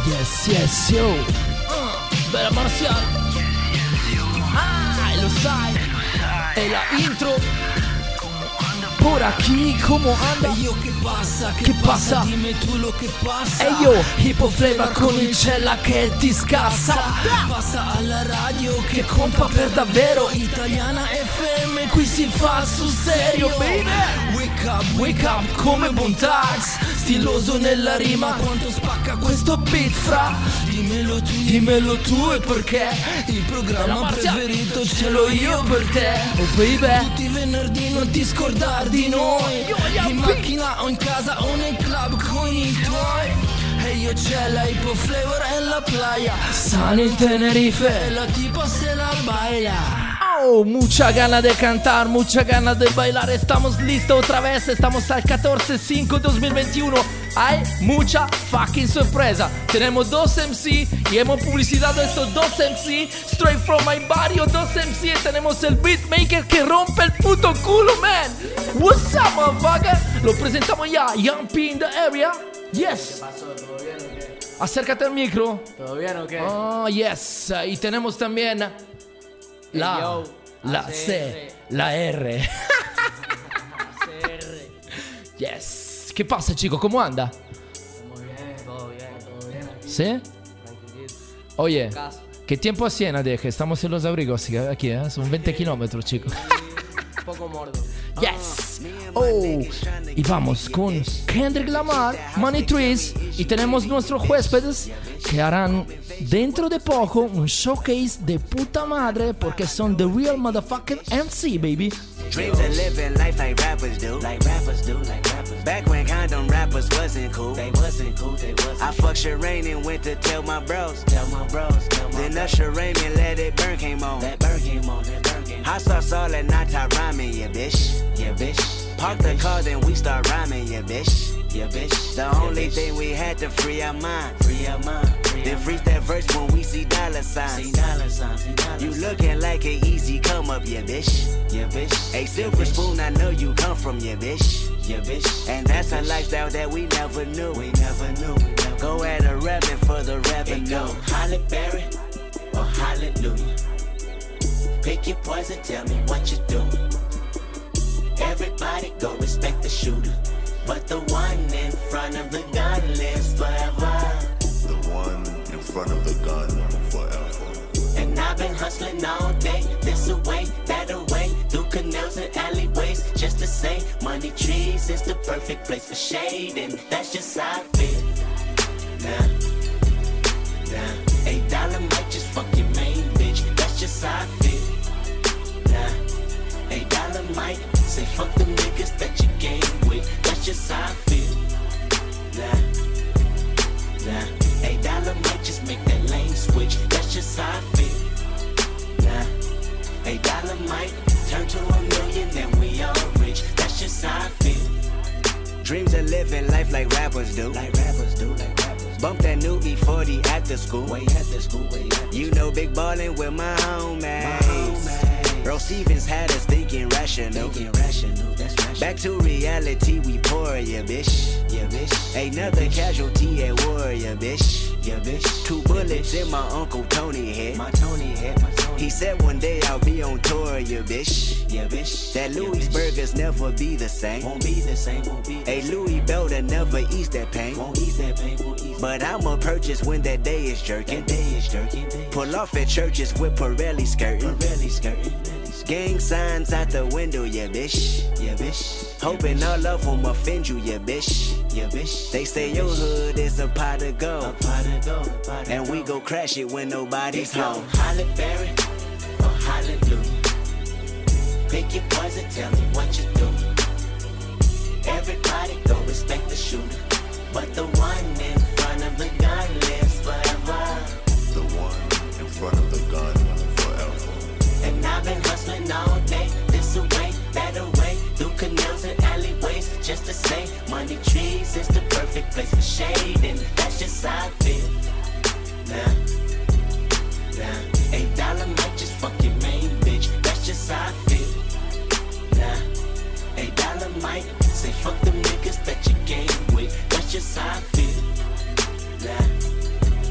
Yes, yo. Bella marziale. Lo sai. È la intro. Por aquí, ¿cómo anda? E io che passa, Che passa? Dimmi tu lo che passa. E io, Hippo Flavor con il cella che ti scassa. Passa alla radio Che conta per davvero. Italiana FM. Qui si fa sul serio, baby. Wake up come Bon Tax. Stiloso nella rima. Quanto spacca Questo beat fra. Dimmelo tu e perché. Il programma preferito ce l'ho io per te. Oh baby. Tutti i venerdì non ti scordare di noi. In macchina o in casa o nel club con i tuoi. E io c'è la Hippo Flavor e la playa. San in E Tenerife. la tipa se la baila. Oh, mucha gana de cantar, mucha gana de bailar. Estamos listos otra vez. Estamos al 14/5/2021. Hay mucha fucking sorpresa. Tenemos dos MC y hemos publicitado estos dos MC straight from my barrio. Dos MC y tenemos el beatmaker que rompe el puto culo, man. What's up, motherfucker? Lo presentamos ya. Young P in the area. Yes. ¿Todo bien o qué? Acércate al micro. ¿Todo bien o qué? Oh, yes. Y tenemos también la, yo, la C, la R. CR. Yes. ¿Qué pasa, chico? ¿Cómo anda? Muy bien, todo bien aquí. ¿Sí? Tranquilito. Oye, Casa. ¿qué tiempo hacía, Nadeje? Estamos en los abrigos aquí, ¿eh? Son 20 kilómetros, chico. Un poco mordo. Yes. Oh, y vamos con Kendrick Lamar, Money Trees. Y tenemos nuestros huéspedes que harán dentro de poco un showcase de puta madre porque son the real motherfucking MC, baby. Dreams of living life like rappers do. Back when condom rappers wasn't cool. They wasn't. I fucked Sherane and went to tell my bros. Then Usher Raymond Let It Burn came on. Hot sauce all that night I rhyming, yeah bitch. Park the car then we start rhyming, yeah bitch. The only thing we had to free our mind. Then freeze that verse when we see dollar signs. You looking like an easy come up, yeah bitch. A silver spoon, I know you come from, yeah bitch. And that's a lifestyle that we never knew. Go at a revenue for the revenue. Go Halle Berry or Hallelujah. Pick your poison, tell me what you doing. Everybody go respect the shooter, but the one in front of the gun lives forever. The one in front of the gun forever. And I've been hustling all day, this away, that away, through canals and alleyways, just to say, Money Trees is the perfect place for shade, and that's just how I feel. Nah, $8 might just fuck your main bitch, that's just how I feel. Nah, $8 might say fuck them niggas that you game with, that's just how I feel. Nah, $8 might just make that lane switch, that's just how I feel. Nah, $8 might turn to $1 million and we all rich, that's just how I feel. Dreams of living life like rappers do. Bump that new E40 after school. You know big ballin' with my homies. Earl Stevens had us thinking rational. Back to reality, we pour, yeah, bitch. Another casualty at war, yeah, bitch. 2 bullets in my Uncle Tony head. He said one day I'll be on tour, yeah, bitch. That Louis burgers never be the same. A Louis Belder never ease that pain. But I'ma purchase when that day is jerking. Pull off at churches with Pirelli skirting. Gang signs out the window, yeah, bitch. Hoping all of them offend you, yeah, bitch. They say your hood is a pot of gold. And we go crash it when nobody's home. Halle Berry or Hallelujah. Pick your poison, tell me what you do. Everybody go respect the shooter, but the one in front of the gun lives forever. The one in front of the gun forever. And I've been hustling all day, this away, that away, through canals and alleyways, just to say, Money Trees is the perfect place for shade, and that's just how I feel. Nah, $8 might just fuck your main bitch, that's just how I feel. Nah, $8 might say fuck them niggas that you game with, that's just how I feel.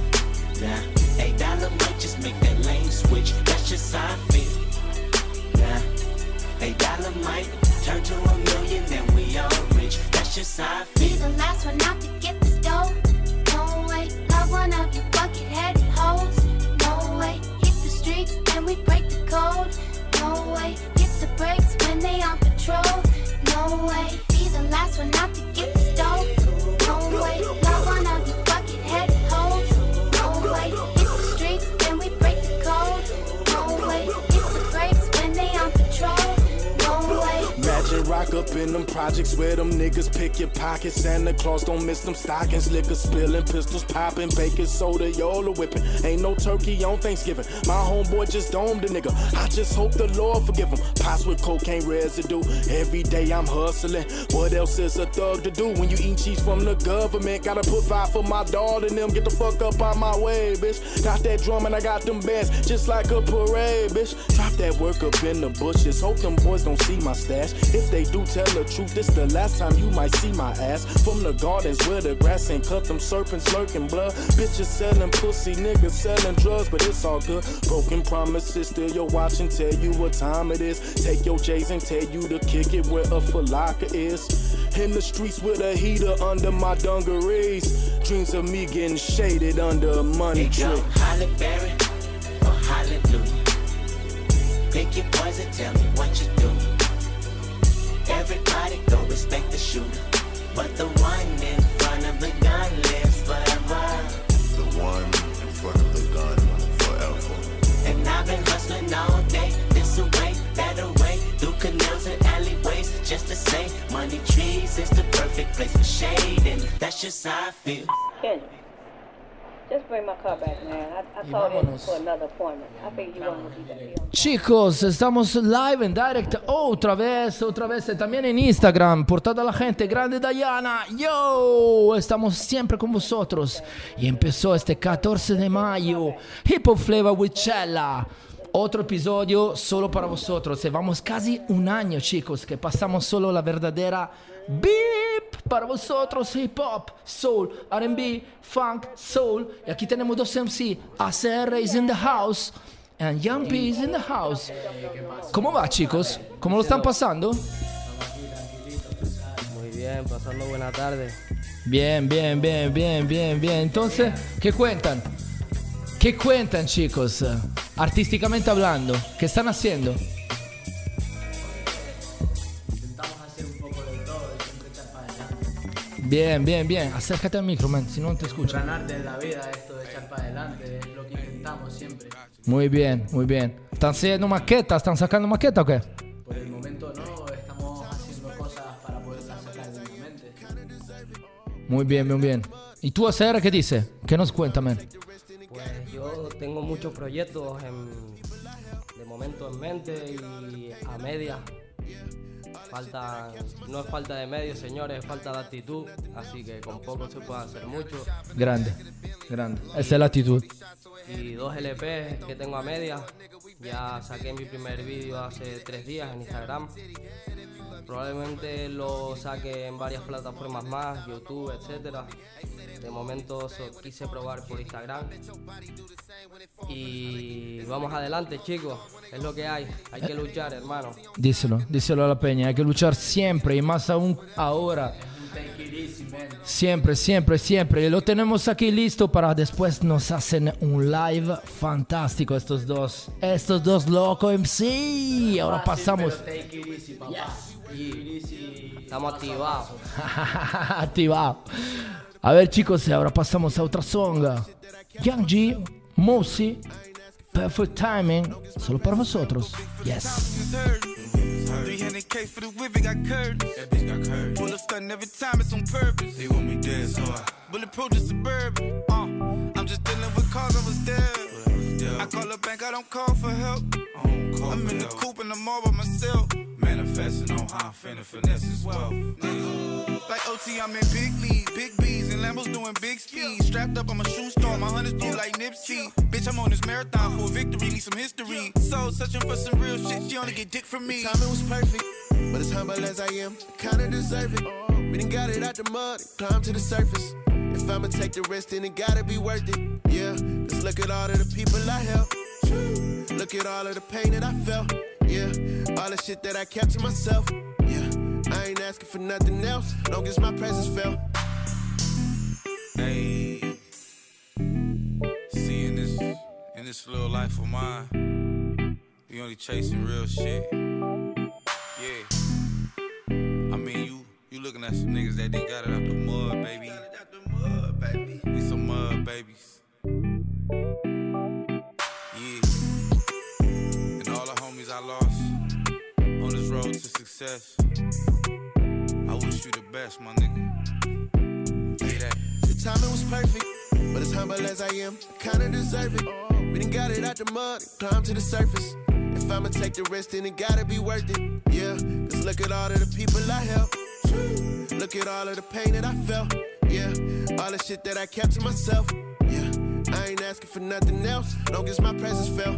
this one out to get the stove. No way, love on all you bucket-head hoes. No way, hit the streets, then we break the code. No way, hit the brakes when they on patrol. No way. Imagine rock up in them projects where them niggas pick your pockets. Santa Claus don't miss them stockings. Liquor spilling, pistols popping, baking soda, y'all are whipping. Ain't no turkey on Thanksgiving. My homeboy just domed the nigga. I just hope the Lord forgive him. Pots with cocaine residue. Every day I'm hustling. What else is a thug to do when you eat cheese from the government? Gotta put five for my dog and them. Get the fuck up out my way, bitch. Got that drum and I got them bands just like a parade, bitch. Drop that work up in the bushes. Hope them boys don't see my stash. If they do, tell the truth. This the last time you might see my ass. From the gardens where the grass ain't cut, them serpents lurking blood. Bitches selling pussy, niggas selling drugs, but it's all good. Broken promises, still your watch and tell you what time it is. Take your J's and tell you to kick it where a falaka is. In the streets with a heater under my dungarees. Dreams of me getting shaded under a money tree. Yo, Halle Berry or hallelujah. Pick your poison, tell me what you do. Everybody go respect the shooter, but the one in front of the gun lives forever. The one in front of the gun forever. And I've been hustling all day, this away, that away, through canals and alleyways, just to say, money trees is the perfect place for shade, and that's just how I feel. Kendrick, just bring my car back, man. I called in for another appointment. I figured you wanted to be there. Chicos, estamos live en direct otra vez, también en Instagram, por toda la gente, grande Diana, yo, estamos siempre con vosotros, y empezó este 14 de mayo, Hip Hop Flavor with Cella, otro episodio solo para vosotros, llevamos casi un año, chicos, que pasamos solo la verdadera beep para vosotros, hip hop, soul, R&B, funk, soul, y aquí tenemos dos MC, ACR is in the house, and Young P is in the house. ¿Cómo va, chicos? ¿Cómo lo están pasando? Muy bien, pasando buena tarde. Bien. Entonces, ¿qué cuentan? ¿Qué cuentan, chicos? Artísticamente hablando, ¿qué están haciendo? Intentamos hacer un poco de todo y siempre echar para adelante. Bien. Acércate al micro, man, si no te escucho. Gran arte en la vida, esto de echar para adelante, es lo que intentamos siempre. Muy bien. ¿Están haciendo maquetas? ¿Están sacando maqueta o qué? Por el momento no, estamos haciendo cosas para poderlas sacar dignamente. Muy bien. ¿Y tú, ACR, qué dice? ¿Qué nos cuenta, man? Pues yo tengo muchos proyectos de momento en mente y a media. No es falta de medios, señores, es falta de actitud, así que con poco se puede hacer mucho. Grande. Esa es la actitud. Y 2 LP que tengo a media. Ya saqué mi primer vídeo hace 3 días en Instagram. Probablemente lo saque en varias plataformas más, YouTube, etcétera. De momento quise probar por Instagram. Y vamos adelante, chicos. Es lo que hay que luchar, hermano. Díselo a la peña. Hay que luchar siempre y más aún ahora. Siempre. Lo tenemos aquí listo para después nos hacen un live fantástico estos dos locos MC. Ahora pasamos. Estamos activados. Activado. A ver, chicos, ahora pasamos a otra song. Young G, Mosi, Perfect Timing, solo para vosotros. Yes. 300K for the whip, it got curved. That bitch got curved. Pull up stunting every time, it's on purpose. They want me dead, so I bulletproof the Suburban. I'm just dealing with cars, I was dead. I call the bank, I don't call for help. I'm in the coupe and I'm all by myself. Manifesting on how I'm finna finesse as well. Like OT, I'm in big league, big B's and Lambos doing big speed. Strapped up, I'm a shoe store, my hunters blue like Nipsey. Bitch, I'm on this marathon for a victory, need some history. So searching for some real shit, she only get dick from me. The timing was perfect, but as humble as I am, kinda deserve it. We done got it out the mud, climbed to the surface. If I'ma take the risk, then it gotta be worth it. Yeah, cause look at all of the people I helped. Look at all of the pain that I felt. Yeah, all the shit that I kept to myself. Yeah, I ain't asking for nothing else, long as my presence felt. Hey, see in this little life of mine, we only chasing real shit. Yeah, I mean you looking at some niggas that they got it out the mud, baby. We some mud babies. Yeah. And all the homies I lost on this road to success, I wish you the best, my nigga. Say that. The timing was perfect, but as humble as I am, kinda deserve it. We done got it out the mud, climbed to the surface. If I'ma take the risk, then it gotta be worth it. Yeah, cause look at all of the people I helped. Look at all of the pain that I felt. Yeah, all the shit that I kept to myself. Yeah, I ain't asking for nothing else. Long as my presence felt.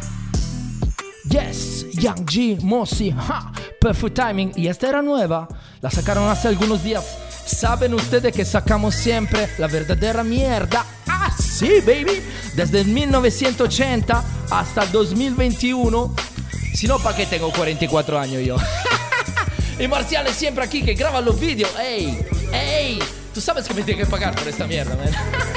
Yes, Young G, Mossi, Perfect Timing. Y esta era nueva, la sacaron hace algunos días. Saben ustedes que sacamos siempre la verdadera mierda. Ah, sí, baby. Desde el 1980 hasta el 2021. Si no, ¿para qué tengo 44 años yo? Y Marcial es siempre aquí que graba los vídeos. Ey, tú sabes que me tienes que pagar por esta mierda, man.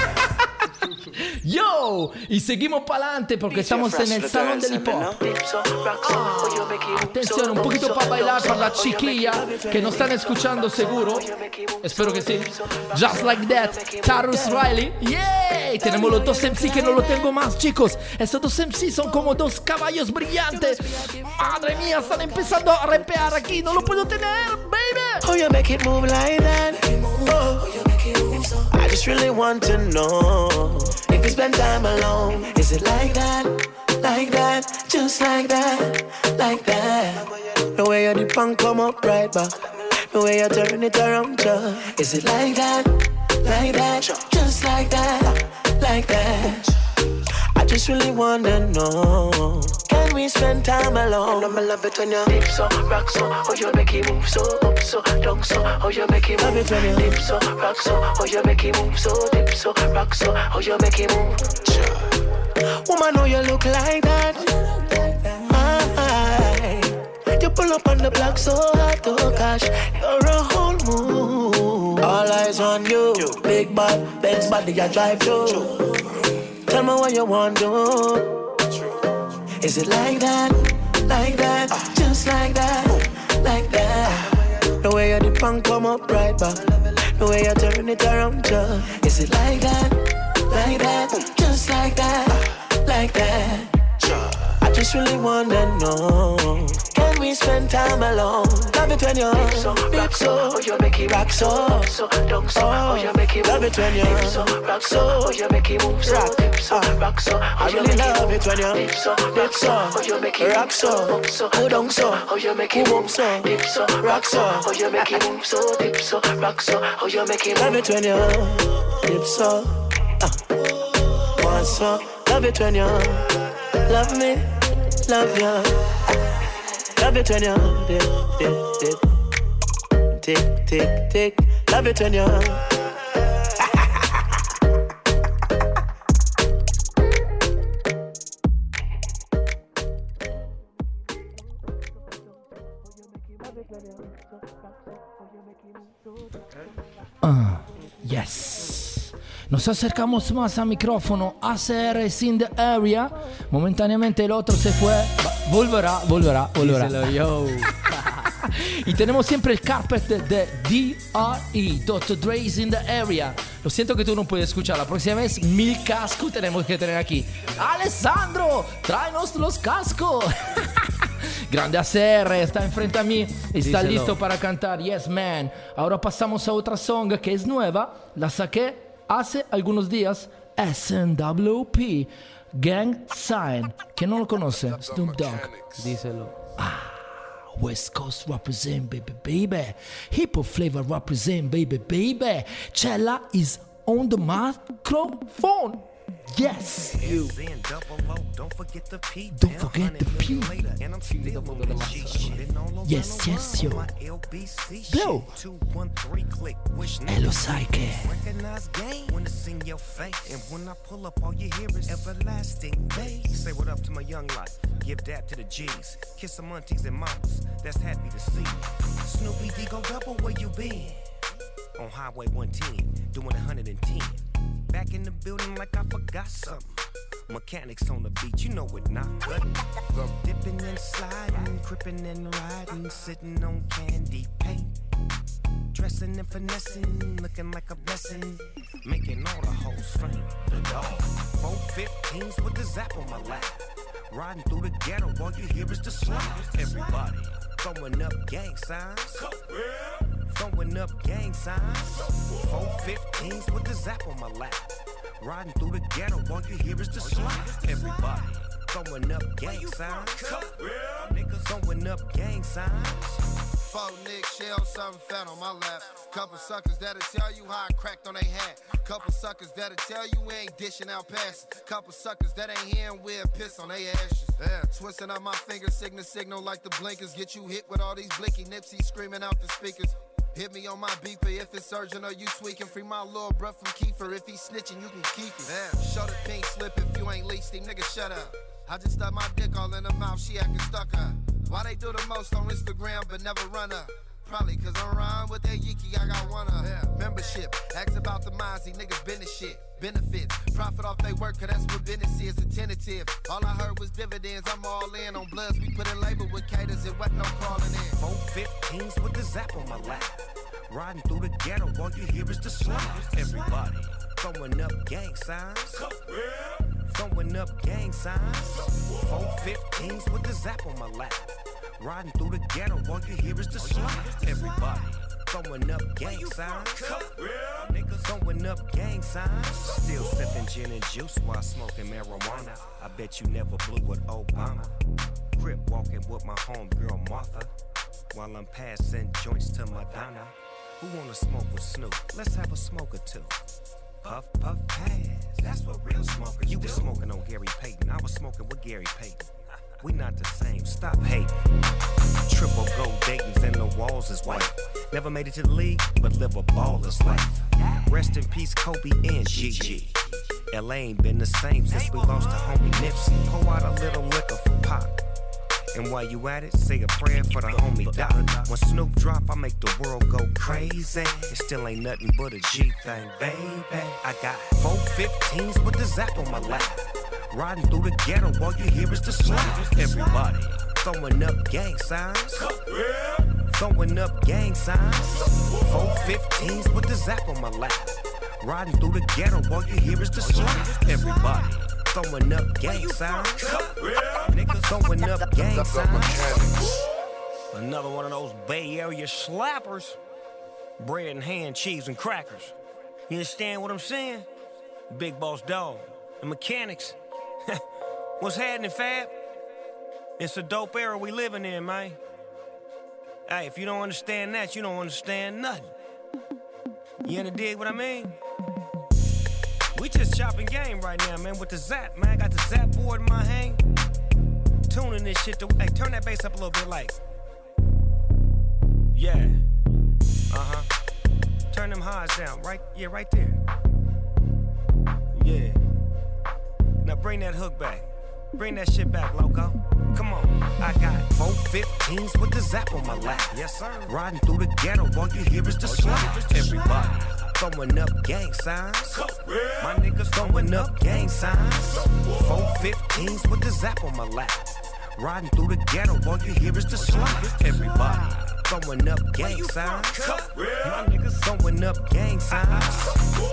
Yo, y seguimos para adelante porque estamos en el salón del hip hop. Atención, un poquito para bailar para la chiquilla que nos están escuchando seguro. Espero que sí. Just Like That, Tarrus Riley. ¡Yay! Tenemos los dos MC que no lo tengo más, chicos. Estos dos MC son como dos caballos brillantes. Madre mía, están empezando a rapear aquí. No lo puedo tener, baby. Oh, you make it move like that. Oh, I just really want to know if you spend time alone. Is it like that, just like that, like that? The way you dip and come up right back, the way you turn it around, just. Is it like that, just like that, like that? I just really wanna know. Can we spend time alone? I'ma love it when you dip so, rock so, oh you make it move so, up so, down so, oh you make it move. Dip so, rock so, oh you make it move so, dip so, rock so, oh you make it move. Woman, oh you look like that. You pull up on the block so hard, oh gosh, you're a whole mood. All eyes on you, big bad, Benz body I drive through. Tell me what you want to do. Is it like that, just like that, the way you dip and come up right back, the way you turn it around, just. Is it like that, just like that, I just really wanna know. Can we spend time alone? Love it when you dip so, oh you make it rock so, down so, oh you make it move. Love it when you dip so, rock so, oh you make it move so, dip so, rock so, I really love it when you dip so, oh you make it rock so, go down so, oh you make it move so, dip so, rock so, oh you make it move so, dip so, rock so, oh you make it move. Love it when you dip so, one so, love it when you love me, love you. Love it when you dip, tick. Love it when you yes. Nos acercamos más al micrófono. ACR is in the area. Momentáneamente el otro se fue. Volverá. Díselo, yo. Y tenemos siempre el carpet de DRE. Dr. Dre is in the area. Lo siento que tú no puedes escuchar. La próxima vez 1000 cascos tenemos que tener aquí. Alessandro, tráenos los cascos. Grande ACR, está enfrente a mí. Está listo para cantar. Yes, man. Ahora pasamos a otra song que es nueva. La saqué hace algunos días. SNWP, Gang Sign. ¿Quién no lo conoce? Snoop Dogg. Díselo. West Coast represent, baby. Hip Hop flavor represent, baby. Cella is on the microphone. Yes, you. Don't forget the P. Yes, yo. Go. E lo sai che. When it's in your face, and when I pull up, all you hear is everlasting bass. Say what up to my young life. Give dap to the G's. Kiss some aunties and mamas. That's happy to see. Snoopy D go double, where you been? On Highway 110, doing 110. back in the building like I forgot something. Mechanics on the beat, you know it not good. From dipping and sliding, crippin' and riding, sitting on candy paint. Dressing and finessing, looking like a blessing, making all the hoes faint. The dog, 415s with the zap on my lap. Riding through the ghetto, all you hear is the slap. Everybody throwing up gang signs. Throwing up gang signs. 415s with the zap on my lap. Riding through the ghetto, all you hear is the slap. Everybody throwing up gang signs. Niggas throwing up gang signs. Faux Nick shell, something fat on my lap. Couple suckers that'll tell you how I cracked on they hat. Couple suckers that'll tell you we ain't dishing out passes. Couple suckers that ain't hearing we'll piss on they ashes. Yeah, twisting up my fingers, signal like the blinkers. Get you hit with all these blicky nipsies screaming out the speakers. Hit me on my beeper if it's urgent or you tweaking. Free my little bruh from Kiefer. If he's snitching, you can keep it. Yeah, show the pink slip if you ain't leased him. Nigga, shut up. I just stuck my dick all in her mouth. She acting stuck up. Why they do the most on Instagram but never run up? Probably cause I'm riding with that Yiki, I got one up. Yeah. Membership, ask about the Mozzie, niggas business shit. Benefits, profit off they work, cause that's what business is, a tentative. All I heard was dividends, I'm all in on bloods. We put in labor with caters, it wasn't no crawling in. 415s with the zap on my lap. Riding through the ghetto, all you hear is the slap. Everybody throwing up gang signs. Throwing up gang signs. 415s with the zap on my lap. Riding through the ghetto, all you hear is the slap. Everybody throwing up gang signs. Niggas throwing up gang signs. Still sipping gin and juice while smoking marijuana. I bet you never blew with Obama. Crip walking with my homegirl Martha while I'm passing joints to Madonna. Who wanna smoke with Snoop? Let's have a smoke or two. Puff, puff, pass. That's what real smokers do. You was smoking on Gary Payton. I was smoking with Gary Payton. We not the same. Stop hating. Triple gold Dayton's and the walls is white. Never made it to the league, but live a baller's life. Rest in peace, Kobe and Gigi. LA ain't been the same since we lost to homie Nipsey. Pour out a little liquor for Pop. And while you at it, say a prayer for the homie Doc. When Snoop drop, I make the world go crazy. It still ain't nothing but a G thing, baby. I got 415s with the zap on my lap. Riding through the ghetto, all you hear is the slap. Everybody throwing up gang signs. Throwing up gang signs. 415s with the zap on my lap. Riding through the ghetto, all you hear is the slap. Everybody throwing up gang signs. Niggas throwing up gang signs. Another one of those Bay Area slappers. Bread and ham, cheese and crackers. You understand what I'm saying? Big Boss Dog, the Mechanics. What's happening, Fab? It's a dope era we living in, man. Hey, if you don't understand that, you don't understand nothing. You dig what I mean? We just chopping game right now, man, with the zap, man. I got the zap board in my hand. Tuning this shit to, hey, turn that bass up a little bit, like. Yeah. Uh-huh. Turn them highs down, right? Yeah, right there. Yeah. Now bring that hook back. Bring that shit back, loco. Come on. I got 415s with the zap on my lap. Yes, sir. Riding through the ghetto, all you hear is the slap. Everybody throwing up gang signs. My niggas throwing up gang signs. 415s with the zap on my lap. Riding through the ghetto, all you hear is the slap. Everybody throwing up gang signs. My niggas throwing up gang signs.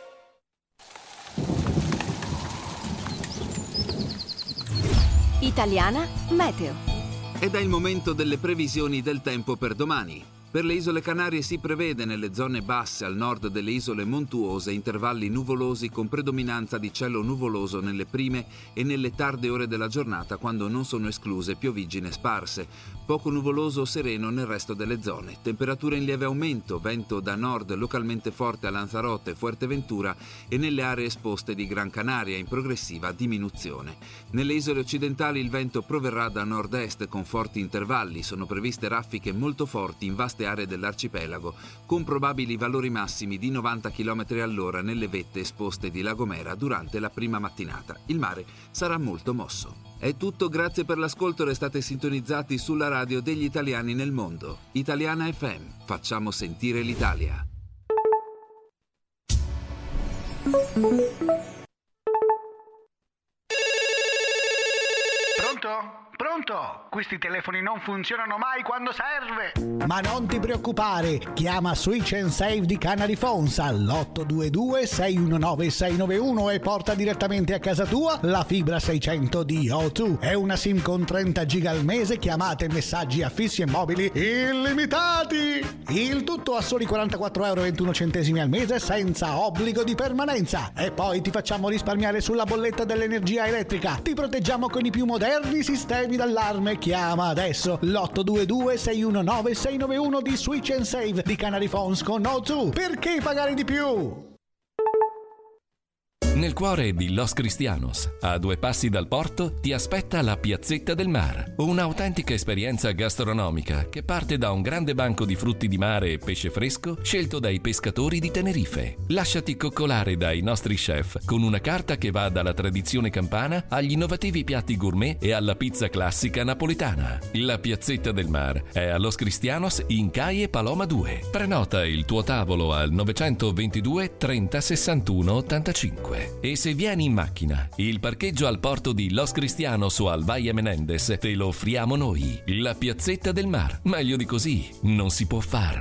Italiana Meteo. Ed è il momento delle previsioni del tempo per domani. Per le isole Canarie si prevede nelle zone basse al nord delle isole montuose intervalli nuvolosi con predominanza di cielo nuvoloso nelle prime e nelle tarde ore della giornata quando non sono escluse pioviggine sparse. Poco nuvoloso o sereno nel resto delle zone. Temperature in lieve aumento, vento da nord localmente forte a Lanzarote e Fuerteventura e nelle aree esposte di Gran Canaria in progressiva diminuzione. Nelle isole occidentali il vento proverrà da nord-est con forti intervalli. Sono previste raffiche molto forti in vaste aree dell'arcipelago, con probabili valori massimi di 90 km all'ora nelle vette esposte di Lagomera durante la prima mattinata. Il mare sarà molto mosso. È tutto, grazie per l'ascolto, restate sintonizzati sulla radio degli italiani nel mondo. Italiana FM, facciamo sentire l'Italia. Pronto? Questi telefoni non funzionano mai quando serve. Ma non ti preoccupare, chiama Switch and Save di Canary Phones all'822 619 691 e porta direttamente a casa tua la fibra 600 di O2. È una SIM con 30 giga al mese, chiamate e messaggi affissi e mobili illimitati. Il tutto a soli 44,21 € al mese senza obbligo di permanenza. E poi ti facciamo risparmiare sulla bolletta dell'energia elettrica. Ti proteggiamo con i più moderni sistemi d'allarme. Chiama adesso l'822 619 691 di Switch and Save di Canary Phones con O2. Perché pagare di più? Nel cuore di Los Cristianos, a 2 passi dal porto, ti aspetta la Piazzetta del Mar, un'autentica esperienza gastronomica che parte da un grande banco di frutti di mare e pesce fresco scelto dai pescatori di Tenerife. Lasciati coccolare dai nostri chef con una carta che va dalla tradizione campana agli innovativi piatti gourmet e alla pizza classica napoletana. La Piazzetta del Mar è a Los Cristianos in Calle Paloma 2. Prenota il tuo tavolo al 922 30 61 85. E se vieni in macchina, il parcheggio al porto di Los Cristianos o al Valle Menendez te lo offriamo noi. La Piazzetta del Mar. Meglio di così non si può far.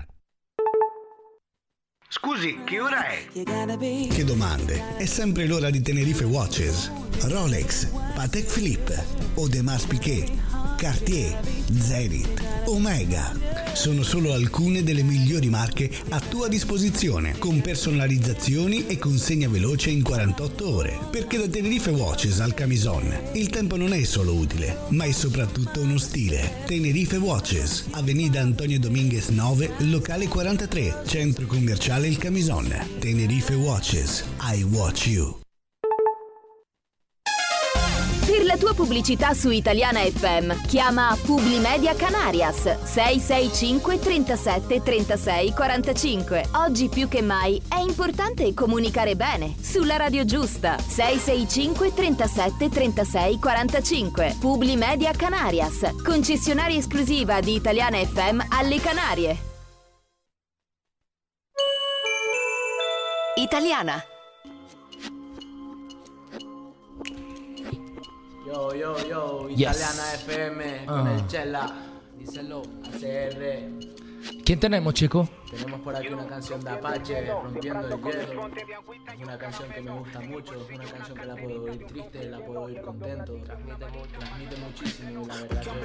Scusi, che ora è? Che domande? È sempre l'ora di Tenerife Watches. Rolex, Patek Philippe, Audemars Piguet, Cartier, Zenith, Omega. Sono solo alcune delle migliori marche a tua disposizione, con personalizzazioni e consegna veloce in 48 ore. Perché da Tenerife Watches al Camisón il tempo non è solo utile, ma è soprattutto uno stile. Tenerife Watches, Avenida Antonio Dominguez 9, locale 43, centro commerciale Il Camisón. Tenerife Watches, I watch you. Per la tua pubblicità su Italiana FM, chiama Publimedia Canarias 665 37 36 45. Oggi più che mai è importante comunicare bene sulla radio giusta. 665 37 36 45. Publimedia Canarias, concessionaria esclusiva di Italiana FM alle Canarie. Italiana. Yo, Yes. Italiana FM con el Chela, díselo, ACR. ¿Quién tenemos, chico? Tenemos por aquí una canción de Apache, Rompiendo el Hielo. Es una canción que me gusta mucho, es una canción que la puedo oír triste, la puedo oír contento, transmite muchísimo y la verdad que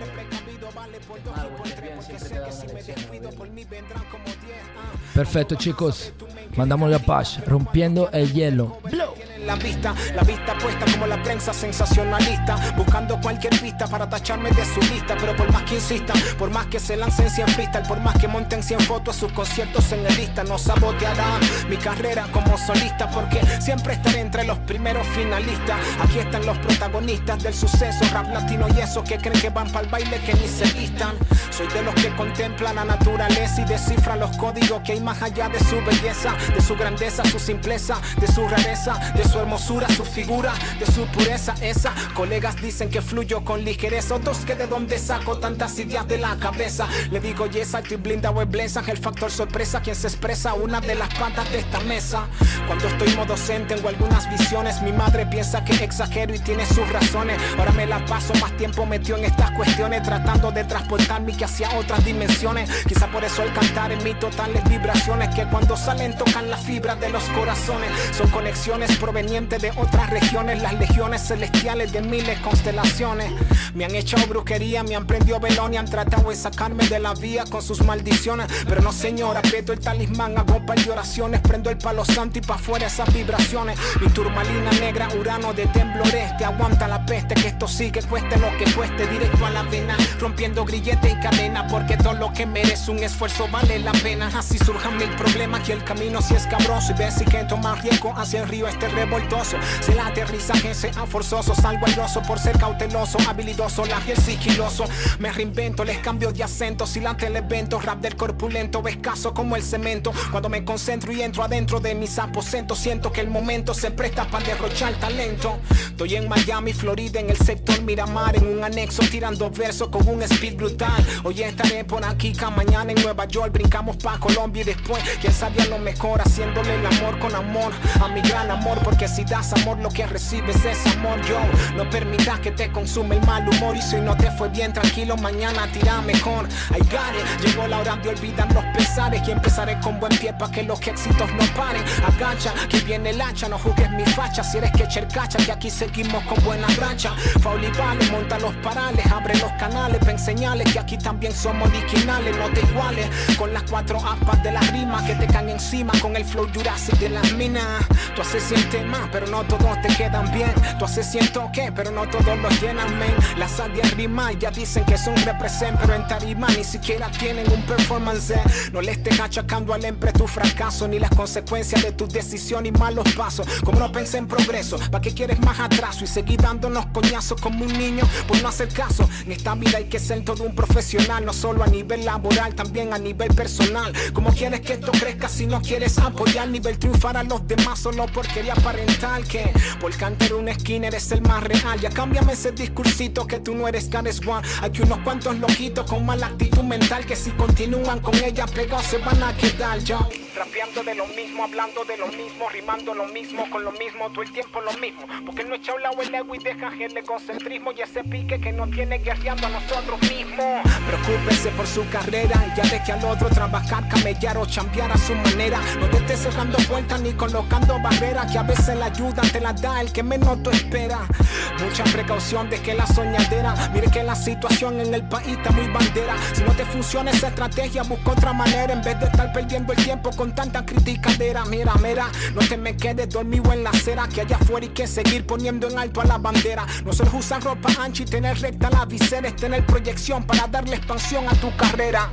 es algo que bien, siempre te da una lección. Perfecto, chicos. Mandamos a Apache, Rompiendo el Hielo. La vista puesta como la prensa sensacionalista, buscando cualquier pista para tacharme de su lista. Pero por más que insistan, por más que se lancen 100 freestyle, por más que monten 100 fotos, sus conciertos en el lista no sabotearán mi carrera como solista, porque siempre estaré entre los primeros finalistas. Aquí están los protagonistas del suceso, rap latino y esos que creen que van para el baile que ni se listan. Soy de los que contemplan la naturaleza y descifran los códigos que hay más allá de su belleza, de su grandeza, su simpleza, de su rareza, de su hermosura, su figura, de su pureza. Esa, colegas dicen que fluyo con ligereza, otros que de dónde saco tantas ideas de la cabeza. Le digo yes, estoy blindado o blesa, el factor sorpresa, quien se expresa una de las patas de esta mesa. Cuando estoy modo zen tengo algunas visiones, mi madre piensa que exagero y tiene sus razones. Ahora me la paso más tiempo metido en estas cuestiones, tratando de transportarme que hacia otras dimensiones. Quizá por eso al cantar emito tales vibraciones que cuando salen tocan las fibras de los corazones. Son conexiones provenientes de otras regiones, las legiones celestiales de miles constelaciones. Me han hecho brujería, me han prendido velón y han tratado de sacarme de la vía con sus maldiciones. Pero no señora, aprieto el talismán, hago un par de oraciones, prendo el palo santo y pa' fuera esas vibraciones. Mi turmalina negra, Urano de temblores, te aguanta la peste, que esto sigue, cueste lo que cueste, directo a la vena, rompiendo grillete y cadena, porque todo lo que merece un esfuerzo vale la pena. Así surjan mil problemas y el camino si es cabroso, y ver si que tomar riesgo hacia el río este revoltoso. Si el aterrizaje sea forzoso, salgo airoso por ser cauteloso, habilidoso, la piel sigiloso. Me reinvento, les cambio de acento, silante el evento, rap del corpulento, escaso como el cemento. Cuando me concentro y entro adentro de mis aposentos, siento que el momento se presta para derrochar talento. Estoy en Miami, Florida, en el sector Miramar, en un anexo tirando versos con un speed brutal. Hoy estaré por aquí, mañana en Nueva York, brincamos pa' Colombia y después, quién sabe a lo mejor, haciéndole el amor con amor a mi gran amor, porque si das amor lo que recibes es amor. Yo no permitas que te consume el mal humor, y si no te fue bien, tranquilo, mañana tira mejor. I got it, llegó la hora de olvidar los pesares y empezaré con buen pie pa' que los éxitos no paren. Agacha, que viene el hacha, no juzgues mi facha, si eres que chercacha, que aquí seguimos con buena racha. Faul y vale, monta los parales, abre los canales pa' enseñarles que aquí también somos originales, no te iguales. Con las 4 aspas de las rimas que te caen encima, con el flow Jurassic de las minas. Tú haces 100 temas, pero no todos te quedan bien. Tú haces 100 toques, pero no todos los llenan, men. Las áreas rimas ya dicen que son represent, pero en tarima ni siquiera tienen un performance. No le estés achacando al empre tu fracaso, ni las consecuencias de tu decisión y malos pasos. Como no pensé en progreso, ¿pa' qué quieres más atraso? Y seguir dándonos coñazos como un niño por no hacer caso. En esta vida hay que ser todo un profesional, no solo a nivel laboral, también a nivel personal. ¿Cómo quieres que esto crezca si no quieres apoyar? Nivel triunfar a los demás solo porquería parental. Que por cantar una esquina eres el más real. Ya cámbiame ese discursito que tú no eres Cares One. Hay que unos cuantos loquitos con mala actitud mental que si continúan con ella pegados se van a quedar. Yo rapeando de lo mismo, hablando de lo mismo, rimando lo mismo, con lo mismo, todo el tiempo lo mismo. Porque no echa a un lado el ego y deja el egocentrismo y ese pique que nos tiene guerreando a nosotros mismos. Preocúpese por su carrera y ya deje al otro trabajar, camellar o chambear a su manera. No te estés cerrando puertas ni colocando barreras, que a veces la ayuda te la da el que menos tú esperas. Mucha precaución de que la soñadera, mire que la situación en el país está muy bandera. Si no te funciona esa estrategia, busca otra manera en vez de estar perdiendo el tiempo con tanta criticadera. Mira, no te me quedes dormido en la acera, que allá afuera hay que seguir poniendo en alto a la bandera. No solo usar ropa ancha y tener recta la visera, es tener proyección para darle expansión a tu carrera.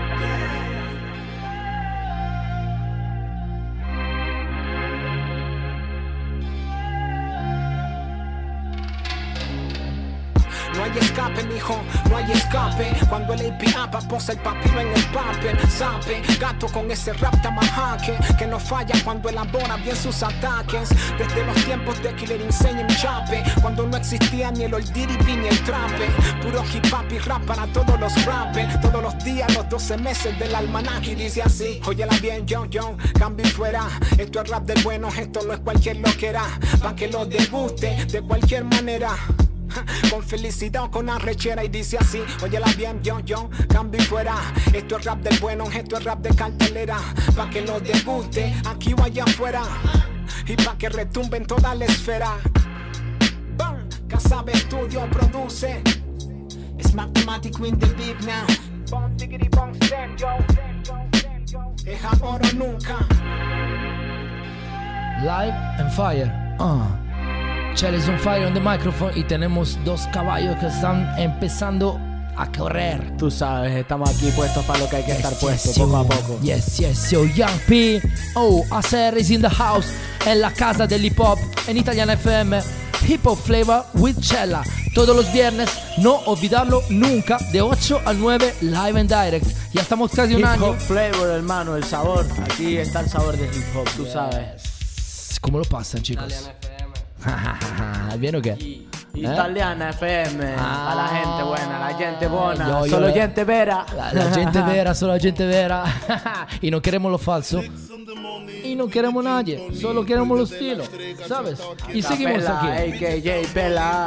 No hay escape, mijo, no hay escape. Cuando el AP posa el papiro en el papel, sabe, gato con ese rap tamajaque que no falla cuando elabora bien sus ataques. Desde los tiempos de Killer Insane en Chape, cuando no existía ni el old DDP ni el trape. Puro hip hop y rap para todos los rappers. Todos los días, los 12 meses del almanaque. Y dice así, óyela bien, yo, cambio y fuera. Esto es rap del bueno, esto no es cualquier loquera. Pa' que lo deguste de cualquier manera, con felicidad o con arrechera. Y dice así, óyela bien, yo, cambio y fuera. Esto es rap del bueno, esto es rap de cartelera. Pa' que lo deguste aquí o allá afuera, y pa' que retumbe en toda la esfera. Casabe Studio produce. Es Mathematico in the beat now. Es ahora o nunca. Live and fire. Chelles on fire on the microphone y tenemos 2 caballos que están empezando a correr. Tú sabes, estamos aquí puestos para lo que hay que estar puestos, poco a poco. Yes, yo, Young P. ACR is in the house. En la casa del hip hop en Italiana FM. Hip Hop Flavor with Chella. Todos los viernes, no olvidarlo nunca, de 8 al 9, live and direct. Ya estamos casi un año. Hip Hop Flavor, hermano, el sabor. Aquí está el sabor del hip hop, tú sabes. ¿Cómo lo pasan, chicos? ¿Bien o qué? Italiana FM, a la gente buena, la gente buena, solo gente vera. La gente vera, solo la gente vera. Y no queremos lo falso. Y no queremos nadie, solo queremos los estilos, ¿sabes? Y seguimos aquí. AKJ Pela.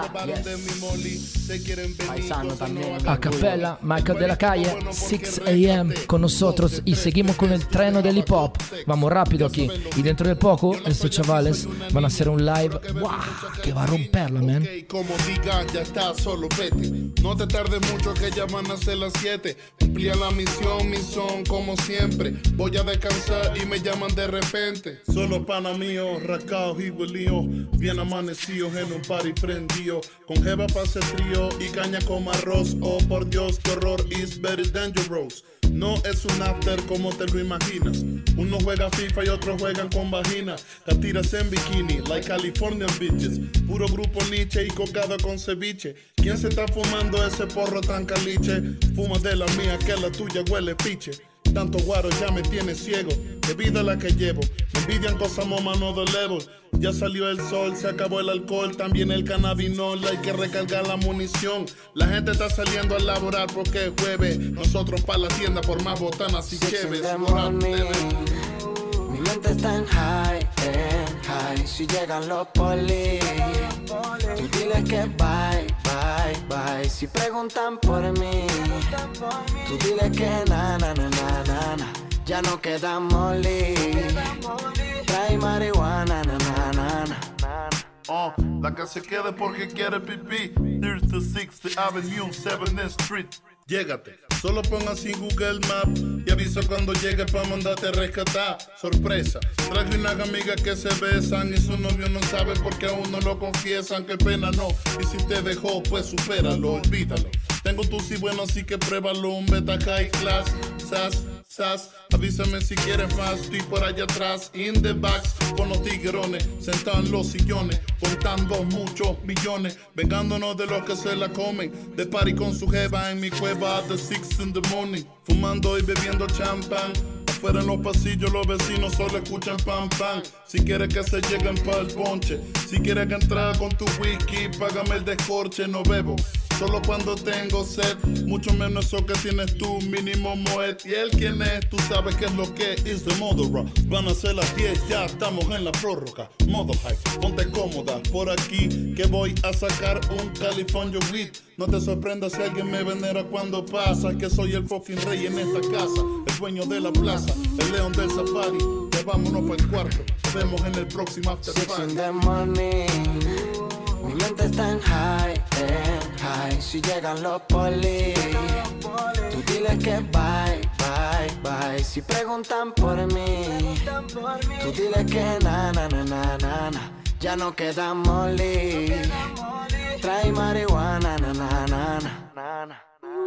Paisano también. A capella, Michael de la calle, 6 AM con nosotros y seguimos con el treno del hip hop. Vamos rápido aquí. Y dentro de poco, estos chavales van a hacer un live. ¡Wow! Que va a romperla, man. Como digas, ya está, solo vete. No te tardes mucho que ya van a ser las 7. Cumplía la misión, mi son como siempre. Voy a descansar y me llaman de repente. Solo pana mío, rascado y huelío. Bien amanecidos en un party prendido. Con jeva pa' ese trío y caña con arroz. Oh por Dios, qué horror, it's very dangerous. No es un after como te lo imaginas. Uno juega FIFA y otros juegan con vagina. Catiras en bikini, like Californian bitches. Puro grupo Nietzsche y cocado con ceviche. ¿Quién se está fumando ese porro tan caliche? Fuma de la mía que la tuya huele piche. Tanto guaro ya me tiene ciego. Qué vida la que llevo. Me envidian cosas moma, no de level. Ya salió el sol, se acabó el alcohol, también el cannabinol. Hay que recargar la munición. La gente está saliendo a laborar porque es jueves. Nosotros pa' la tienda por más botanas y cheves. Mi mente está en high. Si llegan los polis, tú diles que bye. Si preguntan por mí, tú diles que na. Ya no queda molly. Trae marihuana, na. La que se quede porque quiere pipí. Here's the 60th Avenue, 7th Street. Llégate, solo ponga así Google Maps y avisa cuando llegue pa' mandarte a rescatar. Sorpresa, traje unas amigas que se besan y su novio no sabe porque aún no lo confiesan. Qué pena no, y si te dejó pues supéralo, olvídalo. Tengo tu sí bueno así que pruébalo, un beta high class, sas, avísame si quieres más, estoy por allá atrás, in the box, con los tiguerones, sentados en los sillones, contando muchos millones, vengándonos de los que se la comen, de party con su jeva en mi cueva at the 6 in the morning, fumando y bebiendo champán. Afuera en los pasillos los vecinos solo escuchan pam pam. Si quieres que se lleguen pa' el ponche, si quieres que entrar con tu whisky, págame el descorche, no bebo. Solo cuando tengo sed, mucho menos eso que tienes tú, mínimo Moet. Y él quien es, tú sabes qué es lo que es de modo rock. Van a ser las 10, ya estamos en la prórroga. Modo high, ponte cómoda por aquí, que voy a sacar un California weed. No te sorprendas si alguien me venera cuando pasa, que soy el fucking rey en esta casa, el dueño de la plaza, el león del safari. Ya vámonos para el cuarto, nos vemos en el próximo after party. Mi mente está en high. Si llegan los polis, tú diles que bye. Si preguntan por mí, tú diles que na. Ya no queda molly. Trae marihuana, na.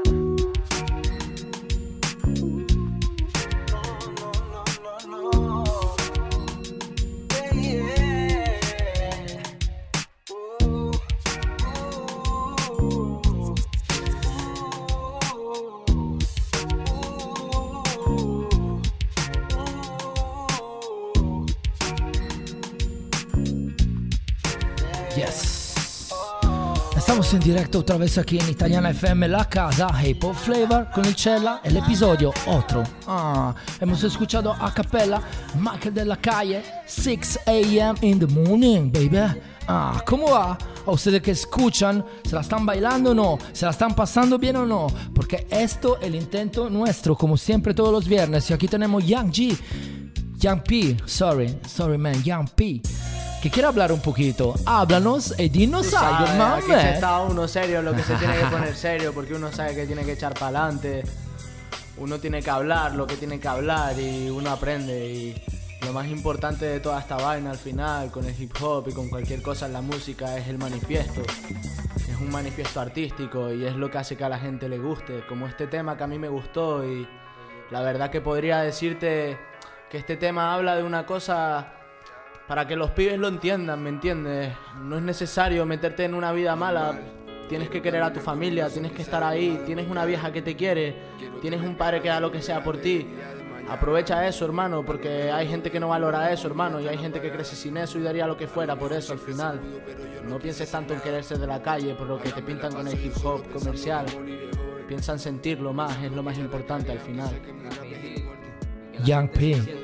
Estamos en directo otra vez aquí en Italiana FM, la casa Hip Hop Flavor con el Cella, el episodio otro. Hemos escuchado a capella Michael de la Calle, 6 a.m. in the morning, baby. ¿Cómo va? A ustedes que escuchan, ¿se la están bailando o no? ¿Se la están pasando bien o no? Porque esto es el intento nuestro, como siempre todos los viernes. Y aquí tenemos Young P, Young P, que quiere hablar un poquito. Háblanos y dinos algo, mami. Aquí se está uno serio, lo que se tiene que poner serio, porque uno sabe que tiene que echar para adelante. Uno tiene que hablar lo que tiene que hablar y uno aprende. Y lo más importante de toda esta vaina al final, con el hip hop y con cualquier cosa en la música, es el manifiesto. Es un manifiesto artístico y es lo que hace que a la gente le guste. Como este tema que a mí me gustó, y la verdad que podría decirte que este tema habla de una cosa para que los pibes lo entiendan, ¿me entiendes? No es necesario meterte en una vida mala. Tienes que querer a tu familia, tienes que estar ahí, tienes una vieja que te quiere, tienes un padre que da lo que sea por ti. Aprovecha eso, hermano, porque hay gente que no valora eso, hermano, y hay gente que crece sin eso y daría lo que fuera por eso al final. No pienses tanto en querer ser de la calle por lo que te pintan con el hip hop comercial. Piensa en sentirlo más, es lo más importante al final. Young P.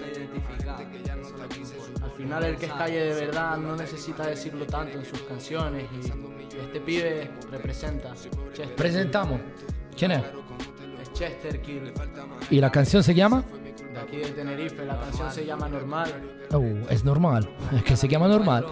Al final el que es calle de verdad no necesita decirlo tanto en sus canciones, y este pibe representa. Chester. Presentamos. ¿Quién es? Es Chester Kill. ¿Y la canción se llama? De aquí de Tenerife, la canción se llama Normal. Es normal, es que se llama Normal.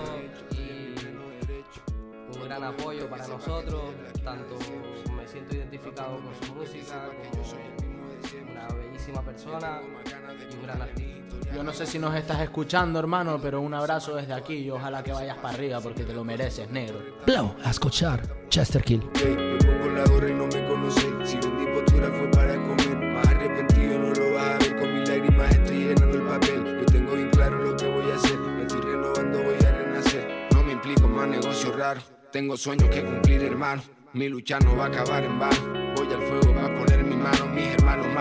Y un gran apoyo para nosotros, tanto me siento identificado con su música, como una bellísima persona y un gran artista. Yo no sé si nos estás escuchando, hermano, pero un abrazo desde aquí y ojalá que vayas para arriba porque te lo mereces, negro. Blow, a escuchar Chester Kill. Me pongo la gorra y no me conocí. Si vendí postura fue para comer. Más arrepentido no lo vas a ver. Con mis lágrimas estoy llenando el papel. Yo tengo bien claro lo que voy a hacer. Me estoy renovando, voy a renacer. No me implico más negocios raros. Tengo sueños que cumplir, hermano. Mi lucha no va a acabar en vano. Voy al fuego para poner mi mano. Mis hermanos más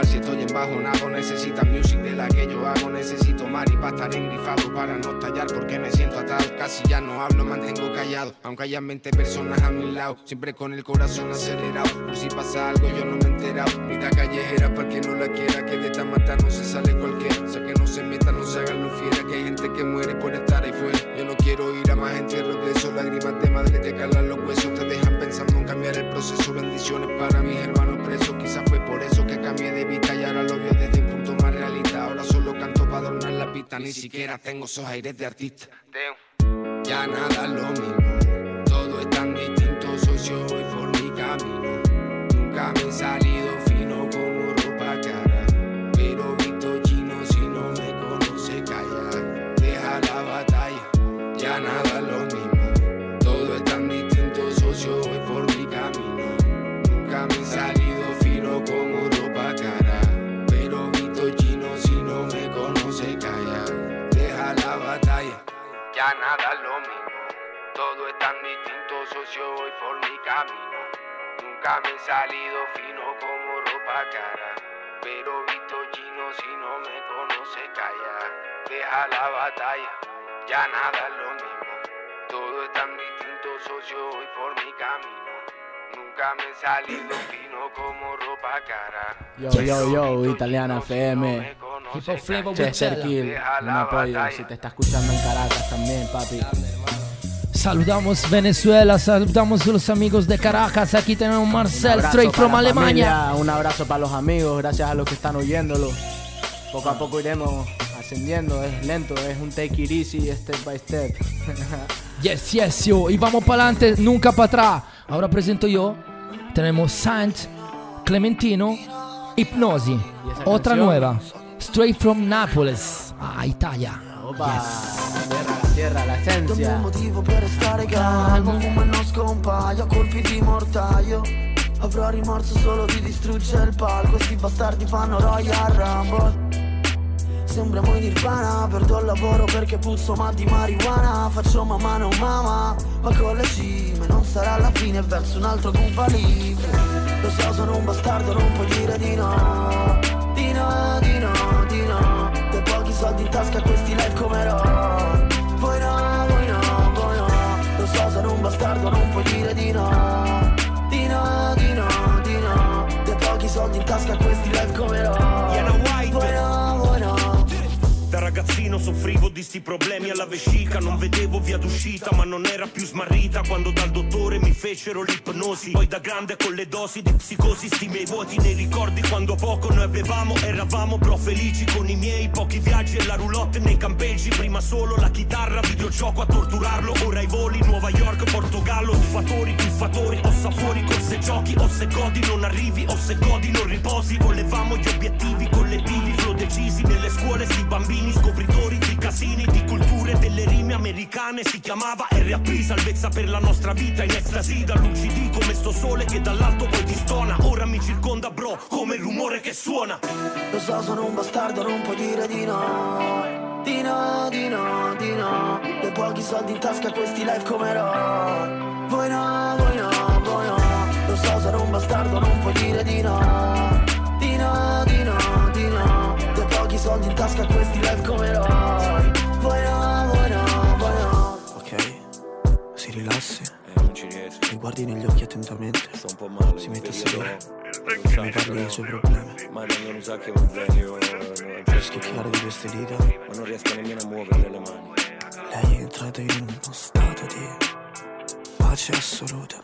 normal si estoy embajonado. Necesitas music de la que yo hago. Necesito mari para estar engrifado, para no estallar porque me siento atado. Casi ya no hablo, mantengo callado, aunque haya 20 personas a mi lado, siempre con el corazón acelerado. Por si pasa algo yo no me he enterado. Vida callejera para el que no la quiera, que de esta mata no se sale cualquiera. O sea que no se meta, no se hagan los fiera, que hay gente que muere por estar ahí fuera. Yo no quiero ir a más entierros de eso. Lágrimas de madre te calan los huesos, te dejan pensando en cambiar el proceso. Bendiciones para mis hermanos presos. Quizás fue por eso que cambié de vida y ahora lo veo desde un punto más realista. Ahora solo canto para adornar la pista, ni siquiera tengo esos aires de artista. Ya nada es lo mismo, todo es tan distinto, socio, voy por mi camino. Nunca me he salido fino como ropa cara, pero visto chino, si no me conoce calla. Deja la batalla, ya nada es lo mismo, todo es tan distinto, socio, voy por mi camino. Nunca me he salido fino como ropa cara, pero visto chino, si no me conoce calla. Deja la batalla, ya nada es lo mismo, todo es tan distinto, socio, voy por mi camino. Nunca me he salido fino como ropa cara, pero visto chino, si no me conoce calla. Deja la batalla, ya nada es lo mismo, todo es tan distinto, socio, voy por mi camino. Nunca me he salido fino como ropa cara. Yo, Italiana FM, Chester Kill, un apoyo si te está escuchando en Caracas también, papi. Saludamos Venezuela, saludamos a los amigos de Caracas. Aquí tenemos Marcel, straight from Alemania. Familia, un abrazo para los amigos, gracias a los que están oyéndolo. Poco a poco iremos ascendiendo, es lento, es un take it easy, step by step. Yes, yo. Y vamos para adelante, nunca para atrás. Ahora presento yo. Tenemos Saint, Clementino, Hipnosi. Otra nueva, straight from Nápoles, Italia. Yes. Tierra, la esencia. Dammi un motivo per restare calmo, fumo e non scompaio a colpi di mortaio. Avrò rimorso solo di distruggere il palco. Questi bastardi fanno Royal Rumble. Sembriamo in Nirvana, perdo il lavoro perché puzzo ma di marijuana. Faccio mamma non mama, ma con le cime non sarà la fine verso un altro Cuba Libre. Lo so, sono un bastardo, non puoi dire di no. Di no, di no, di no. Dei pochi soldi in tasca a questi live come Ro. Voi no, voi no, voi no. Lo so, sono un bastardo, non puoi dire di no. Di no, di no, di no. Dei pochi soldi in tasca a questi live come Ro. Voi no, voi no. Da ragazzino soffrivo di sti problemi alla vescica. Non vedevo via d'uscita ma non era più smarrita quando dal dottore mi fecero l'ipnosi. Poi da grande con le dosi di psicosi sti miei vuoti nei ricordi quando poco noi avevamo. Eravamo bro felici con i miei pochi viaggi e la roulotte nei campeggi. Prima solo la chitarra, videogioco a torturarlo. Ora i voli, Nuova York, Portogallo. Tuffatori, o sapori, corse giochi. O se godi non arrivi, o se godi non riposi. Volevamo gli obiettivi collettivi, flow decisi. Nelle scuole sti bambini scopritori di casini, di culture, delle rime americane. Si chiamava R.A.P. salvezza per la nostra vita in estasi. Dall'UCD come sto sole che dall'alto poi ti stona. Ora mi circonda bro come il rumore che suona. Lo so, sono un bastardo, non puoi dire di no. Di no, di no, di no. Dei pochi soldi in tasca a questi live come Ro. Voi no, voi no, voi no. Lo so, sono un bastardo, non puoi dire di no. Di no, di no, di no. Dei pochi soldi in tasca a questi live come Roy. Voi no, voi no, voi no. Ok, si rilassi, non ci riesco. Mi guardi negli occhi attentamente. Sto un po' male. Si mette a sedere. Mi parli dei suoi problemi. Ma non sa che va bene, io per schicchiare di queste dita. Ma non riesco nemmeno a muovere le mani. Lei è entrata in uno stato di pace assoluta.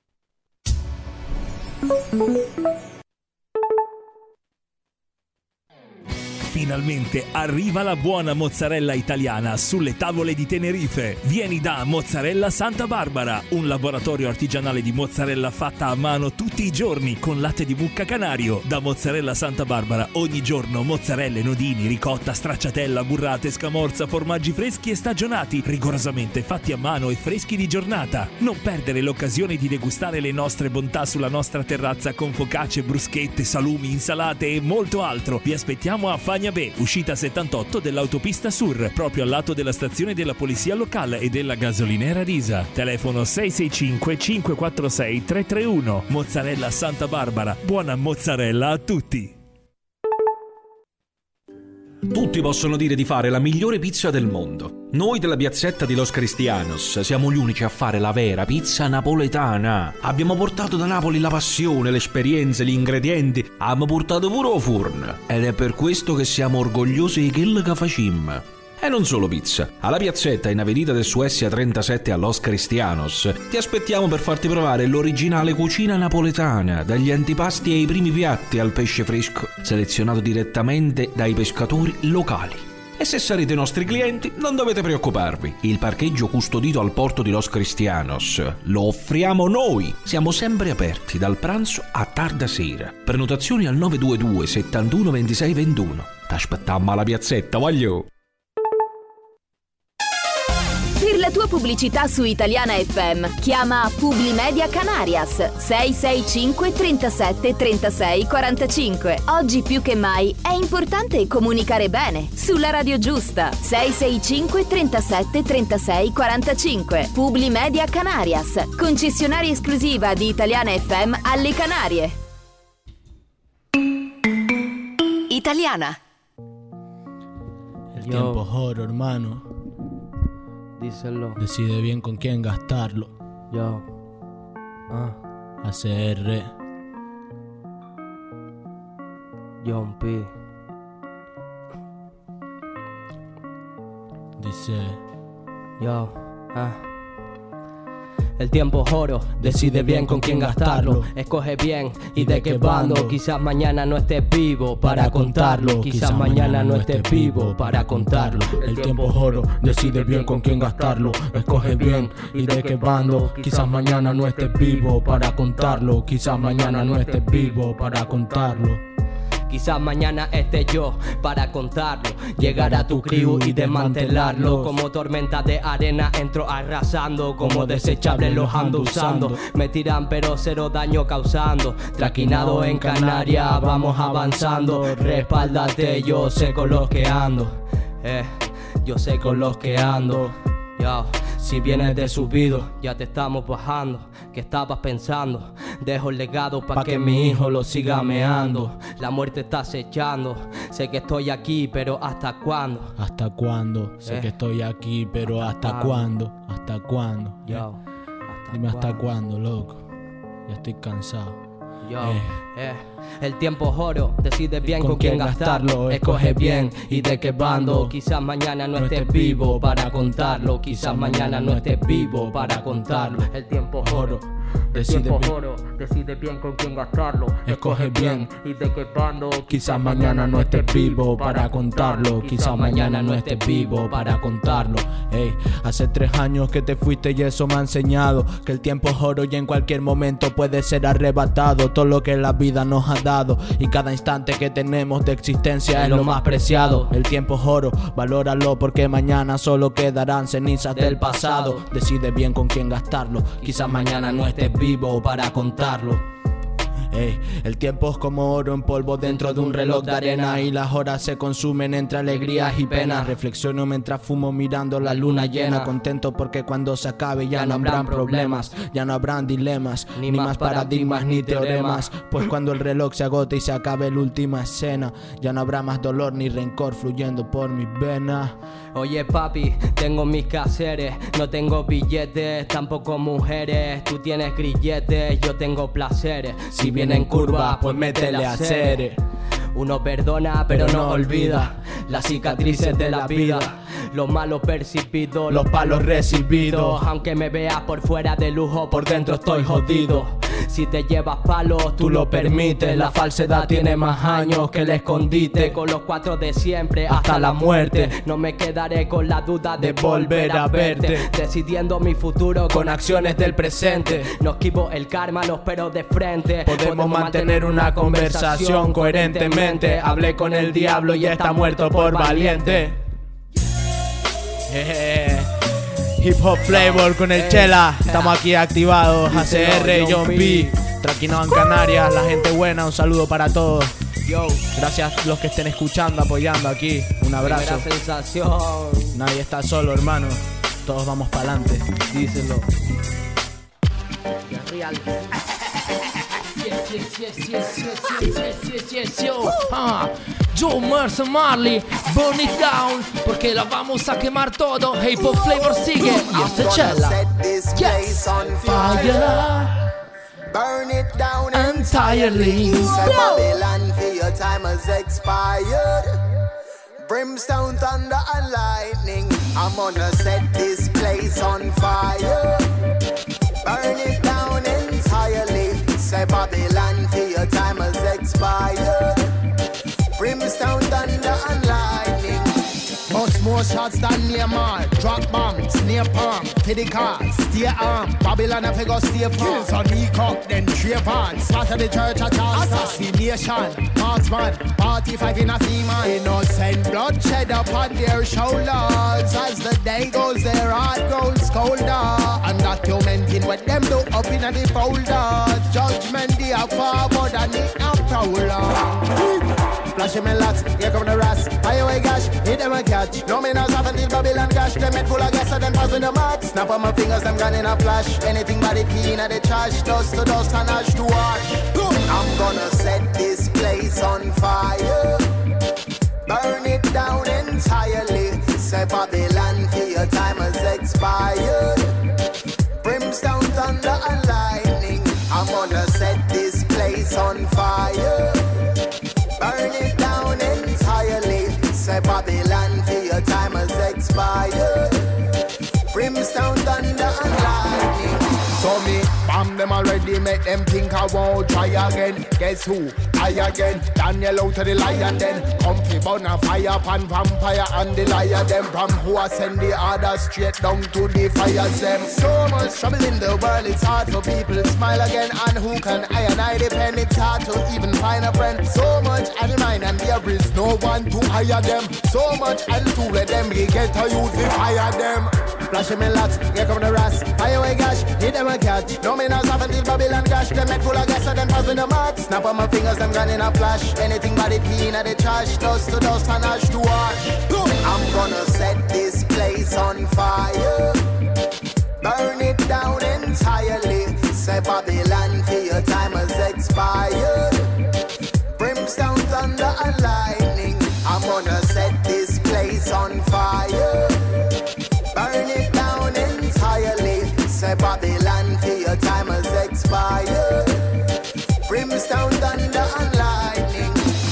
Finalmente arriva la buona mozzarella italiana sulle tavole di Tenerife. Vieni da Mozzarella Santa Barbara, un laboratorio artigianale di mozzarella fatta a mano tutti i giorni con latte di mucca canario. Da Mozzarella Santa Barbara ogni giorno mozzarelle, nodini, ricotta, stracciatella, burrate, scamorza, formaggi freschi e stagionati, rigorosamente fatti a mano e freschi di giornata. Non perdere l'occasione di degustare le nostre bontà sulla nostra terrazza con focacce, bruschette, salumi, insalate e molto altro. Vi aspettiamo a Fagna B, uscita 78 dell'autopista Sur, proprio al lato della stazione della polizia locale e della gasolinera Risa. Telefono 665 546 331. Mozzarella Santa Barbara. Buona mozzarella a tutti! Tutti possono dire di fare la migliore pizza del mondo. Noi della piazzetta di Los Cristianos siamo gli unici a fare la vera pizza napoletana. Abbiamo portato da Napoli la passione, l'esperienza, gli ingredienti. Abbiamo portato pure il forno. Ed è per questo che siamo orgogliosi di quello che facciamo. E non solo pizza. Alla piazzetta in Avenida del Suessia 37 a Los Cristianos ti aspettiamo per farti provare l'originale cucina napoletana, dagli antipasti ai primi piatti al pesce fresco, selezionato direttamente dai pescatori locali. E se sarete nostri clienti, non dovete preoccuparvi. Il parcheggio custodito al porto di Los Cristianos lo offriamo noi. Siamo sempre aperti dal pranzo a tarda sera. Prenotazioni al 922 71 26 21. T'aspettiamo alla piazzetta, voglio! Per la tua pubblicità su Italiana FM, chiama Publimedia Canarias 665 37 36 45. Oggi più che mai è importante comunicare bene sulla radio giusta. 665 37 36 45. Publimedia Canarias, concessionaria esclusiva di Italiana FM alle Canarie. Italiana. El tiempo es oro, hermano. Díselo. Decide bien con quién gastarlo. Yo. ACR. John P. Dice. Yo. El tiempo es oro, decide bien con quién gastarlo. Escoge bien y de qué bando. Quizás mañana no estés vivo para contarlo. Quizás mañana no estés vivo para contarlo. El tiempo es oro, decide bien con quién gastarlo. Escoge bien y de qué bando. Quizás mañana no estés vivo para contarlo. Quizás mañana no estés vivo para contarlo. Quizás mañana esté yo para contarlo. Llegar a tu crew y desmantelarlo. Como tormenta de arena entro arrasando. Como desechable los ando usando. Me tiran pero cero daño causando. Traquinado en Canarias, vamos avanzando. Respáldate, yo sé con los que ando. Yo sé con los que ando. Yo, si vienes de subido, ya te estamos bajando. ¿Qué estabas pensando? Dejo el legado pa' que mi hijo lo siga meando. La muerte está acechando. Sé que estoy aquí, pero ¿hasta cuándo? ¿Hasta cuándo? Sé que estoy aquí, pero ¿hasta cuándo? ¿Hasta cuándo? Yo, Dime hasta cuándo, loco. Ya estoy cansado. Yo, el tiempo es oro, decide bien con quién gastarlo. Escoge bien y de qué bando. Quizás mañana no estés vivo para contarlo. Quizás mañana no estés vivo para contarlo. El tiempo es oro, decide bien con quién gastarlo. Escoge bien y de qué bando. Quizás mañana no estés vivo para contarlo. Quizás mañana no estés vivo para contarlo. Ey, hace 3 años que te fuiste y eso me ha enseñado que el tiempo es oro y en cualquier momento puede ser arrebatado. Todo lo que la vida nos ha dado y cada instante que tenemos de existencia es lo más preciado. El tiempo es oro, valóralo porque mañana solo quedarán cenizas del pasado. Decide bien con quién gastarlo. Quizás mañana no estés vivo para contarlo. Ey, el tiempo es como oro en polvo dentro de un reloj de arena y las horas se consumen entre alegrías y penas. Reflexiono mientras fumo mirando la luna llena, contento porque cuando se acabe ya no habrán problemas, ya no habrán dilemas, ni más paradigmas ni teoremas. Pues cuando el reloj se agote y se acabe la última escena, ya no habrá más dolor ni rencor fluyendo por mis venas. Oye papi, tengo mis quehaceres, no tengo billetes, tampoco mujeres. Tú tienes grilletes, yo tengo placeres. Si viene en curva, pues métele a hacer. Uno perdona pero no olvida las cicatrices de la vida, los malos percibidos, los palos recibidos. Aunque me veas por fuera de lujo, por dentro estoy jodido. Si te llevas palos, tú lo permites. La falsedad tiene más años que el escondite. Con los 4 de siempre hasta la muerte. No me quedaré con la duda de volver a verte. Decidiendo mi futuro con acciones del presente. No esquivo el karma, lo espero de frente. Podemos mantener una conversación coherentemente. Hablé con el diablo y está muerto por valiente. Hip Hop Flavor con el Chela. Estamos aquí activados. ACR, John P. Traquinado en Canarias. La gente buena. Un saludo para todos. Gracias a los que estén escuchando, apoyando aquí. Un abrazo. Primera sensación. Nadie está solo, hermano. Todos vamos para adelante. Díselo. Joe Mercer Marley, Burn It Down, porque la vamos a quemar todo. Hey, Pop Flavor sigue y este chela. Yes. Fire. Burn it down entirely. Say Babylon for your time has expired. Brimstone, thunder and lightning, I'm gonna set this place on fire. Burn it down entirely. Say Babylon for your time has expired. Brimstone, thunder and lightning. Bust more shots than Neymar. Drop bombs, near palm, to the car, stay arm. Babylon a figure stay palm. Kills on E-Cup, then trip on. Slaughter the church at Charleston. Assassination, marksman, party 5 in a seaman. Innocent bloodshed upon their shoulders. As the day goes, their heart grows colder. And documenting what them do up in the folder. Judgment they are forward and it a prowler. Flashing my locks, here come the rats. High away gash, hit them a catch. No meaners have until Babylon gash. Them head full of gas and then pass with the mark. Snap on my fingers, them gone in a flash. Anything but it clean at the trash. Dust to dust and ash to ash. I'm gonna set this place on fire. Burn it down entirely. Say Babylon for your time has expired. Brimstone, thunder and lightning, I'm gonna set this place on fire. Burn it down entirely. Say Babylon for your time has expired. Brimstone, thunder and lightning. So me bomb them already, make them think I won't try again. Guess who? I again. Daniel out to the lion then. Comfy burn a fire pan vampire and the liar them. From who I send the order straight down to the fire them. So much trouble in the world, it's hard for people to smile again. And who can I and I depend? It's hard to even find a friend. So much I mind and there is no one to hire them. So much I'll to let them get a youth to fire them. Flashing me lots, here come the rats. High away gash, hit them a catch. No meaners have until Babylon gash. Them head full of gas and then pass with the mark. Snap on my fingers, them gone in a flash. Anything but it clean at the trash. Dust to dust and ash to ash. I'm gonna set this place on fire. Burn it down entirely. Say Babylon for your time has expired. Brimstone, thunder and lightning, I'm gonna set this place on fire. Burn it down entirely. Say Babylon for your time has expired. Brimstone, thunder and lightning.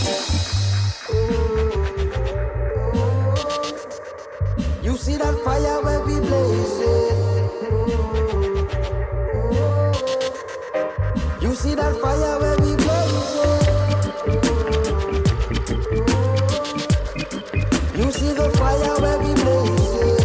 You see that fire where we blazing. You see that fire where we blazing. You see the fire where we blazing.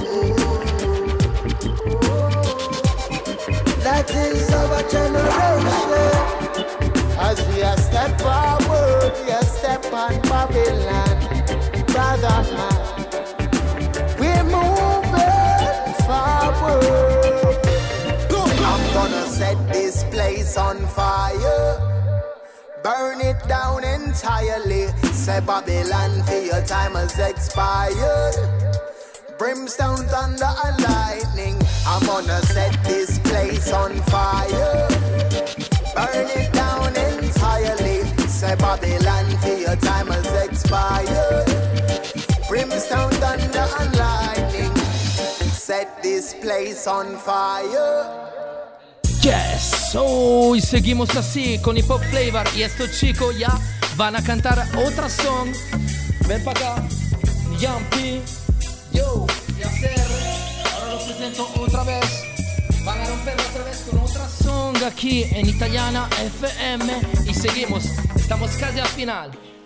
That is our generation. As we are step forward, we are step on Babylon. Brother man, we're moving forward. I'm gonna set this place on fire. Burn it down entirely. Say Babylon for your time has expired. Brimstone, thunder and lightning, I'm gonna set this place on fire. Burn it down entirely. Say Babylon for your time has expired. Brimstone, thunder and lightning, set this place on fire. Yes, hoy seguimos así con Hip Hop Flavor y estos chicos ya van a cantar otra song. Ven para acá, Jumpy, yo, y hacer. Ahora los presento otra vez. Van a romperlo otra vez con otra song aquí en Italiana FM y seguimos. Estamos casi al final.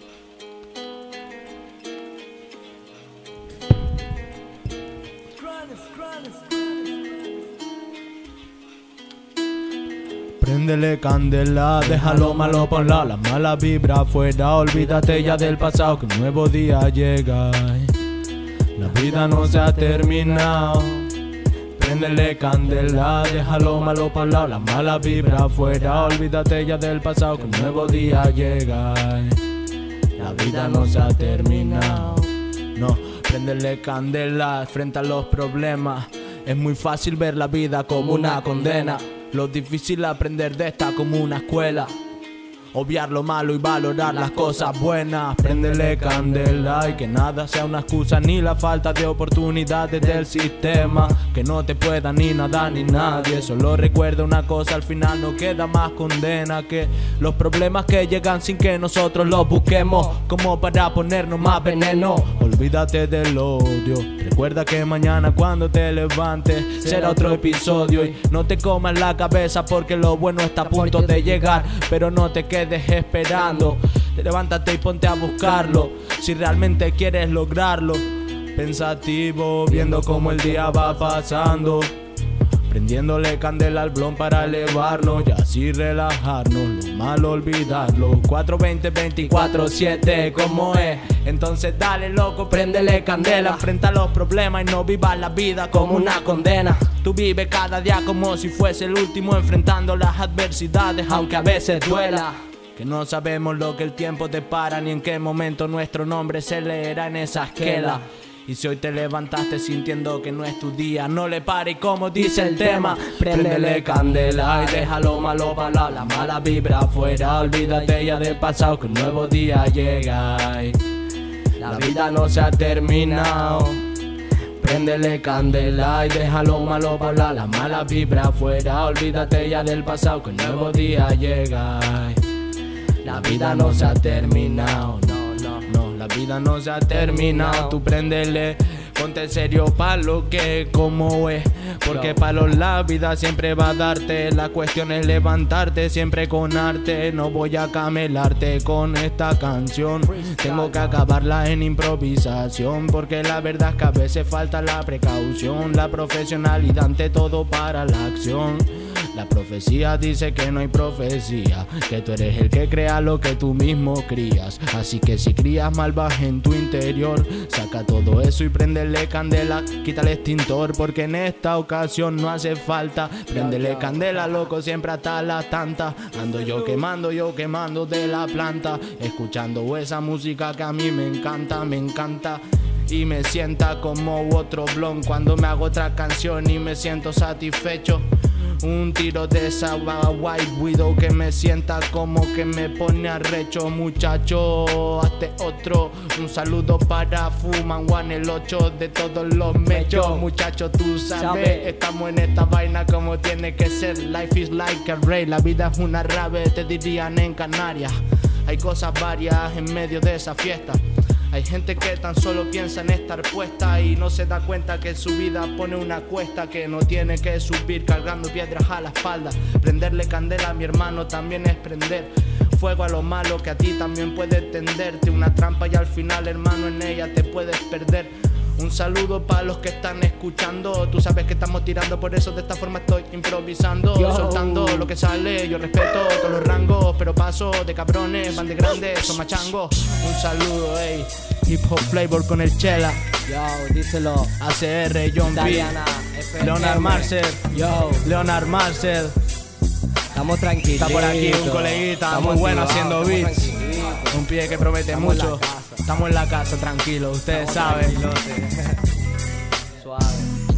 Préndele candela, déjalo malo por la mala vibra fuera, olvídate ya del pasado que un nuevo día llega. La vida no se ha terminado. Préndele candela, déjalo malo por la mala vibra fuera, olvídate ya del pasado que un nuevo día llega. La vida no se ha terminado. No, préndele candela frente a los problemas. Es muy fácil ver la vida como una condena. Lo difícil es aprender de esta como una escuela. obviar lo malo y valorar las cosas buenas. Préndele candela y que nada sea una excusa, ni la falta de oportunidades del sistema. Que no te pueda ni nada ni nadie. Solo recuerda una cosa, al final no queda más condena que los problemas que llegan sin que nosotros los busquemos, como para ponernos más veneno. Olvídate del odio, recuerda que mañana cuando te levantes será otro episodio. Y no te comas la cabeza porque lo bueno está a punto de llegar, pero no te quedes esperando. Levántate y ponte a buscarlo si realmente quieres lograrlo. Pensativo, viendo cómo el día va pasando, prendiéndole candela al blon para elevarnos y así relajarnos, lo malo olvidarlo. 420-24-7, ¿cómo es? Entonces dale loco, préndele candela. Enfrenta los problemas y no vivas la vida como una condena. Tú vive cada día como si fuese el último, enfrentando las adversidades aunque a veces duela. Que no sabemos lo que el tiempo te para, ni en qué momento nuestro nombre se leerá en esa esquela. Y si hoy te levantaste sintiendo que no es tu día, no le pares como dice el tema. Préndele candela y deja lo malo para la mala vibra afuera. Olvídate ya del pasado que un nuevo día llega. La vida no se ha terminado. Préndele candela y deja lo malo para la mala vibra afuera. Olvídate ya del pasado que un nuevo día llega. La vida no se ha terminado, no, la vida no se ha terminado. Tú préndele, ponte serio pa' lo que como es, porque pa' la vida siempre va a darte. La cuestión es levantarte siempre con arte. No voy a camelarte con esta canción, tengo que acabarla en improvisación, porque la verdad es que a veces falta la precaución, la profesionalidad ante todo para la acción. La profecía dice que no hay profecía, que tú eres el que crea lo que tú mismo crías. Así que si crías malvas en tu interior, saca todo eso y préndele candela. Quita el extintor porque en esta ocasión no hace falta. Préndele candela, loco, siempre hasta las tantas. Ando yo quemando de la planta, escuchando esa música que a mí me encanta. Y me sienta como otro blon cuando me hago otra canción y me siento satisfecho. Un tiro de esa White Widow que me sienta como que me pone arrecho. Muchacho, hazte otro. Un saludo para Fuman One, el 8 de todos los mechos. Muchacho, tú sabes, estamos en esta vaina como tiene que ser. Life is like a ray, la vida es una rave, te dirían en Canarias. Hay cosas varias en medio de esa fiesta. Hay gente que tan solo piensa en estar puesta y no se da cuenta que su vida pone una cuesta que no tiene que subir cargando piedras a la espalda. Prenderle candela a mi hermano también es prender fuego a lo malo que a ti también puede tenderte una trampa y al final, hermano, en ella te puedes perder. Un saludo para los que están escuchando. Tú sabes que estamos tirando, por eso de esta forma estoy improvisando, soltando lo que sale. Yo respeto todos los rangos, pero paso de cabrones, van de grandes, son machangos. Un saludo, ey, hip hop flavor con el Chela. Yo, díselo. ACR, John B, Leonard Marcel. Yo, Leonard Marcel. Estamos tranquilos. Está por aquí un coleguita muy bueno haciendo beats. Un pie que promete mucho. Estamos en la casa, tranquilo, ustedes saben. Suave.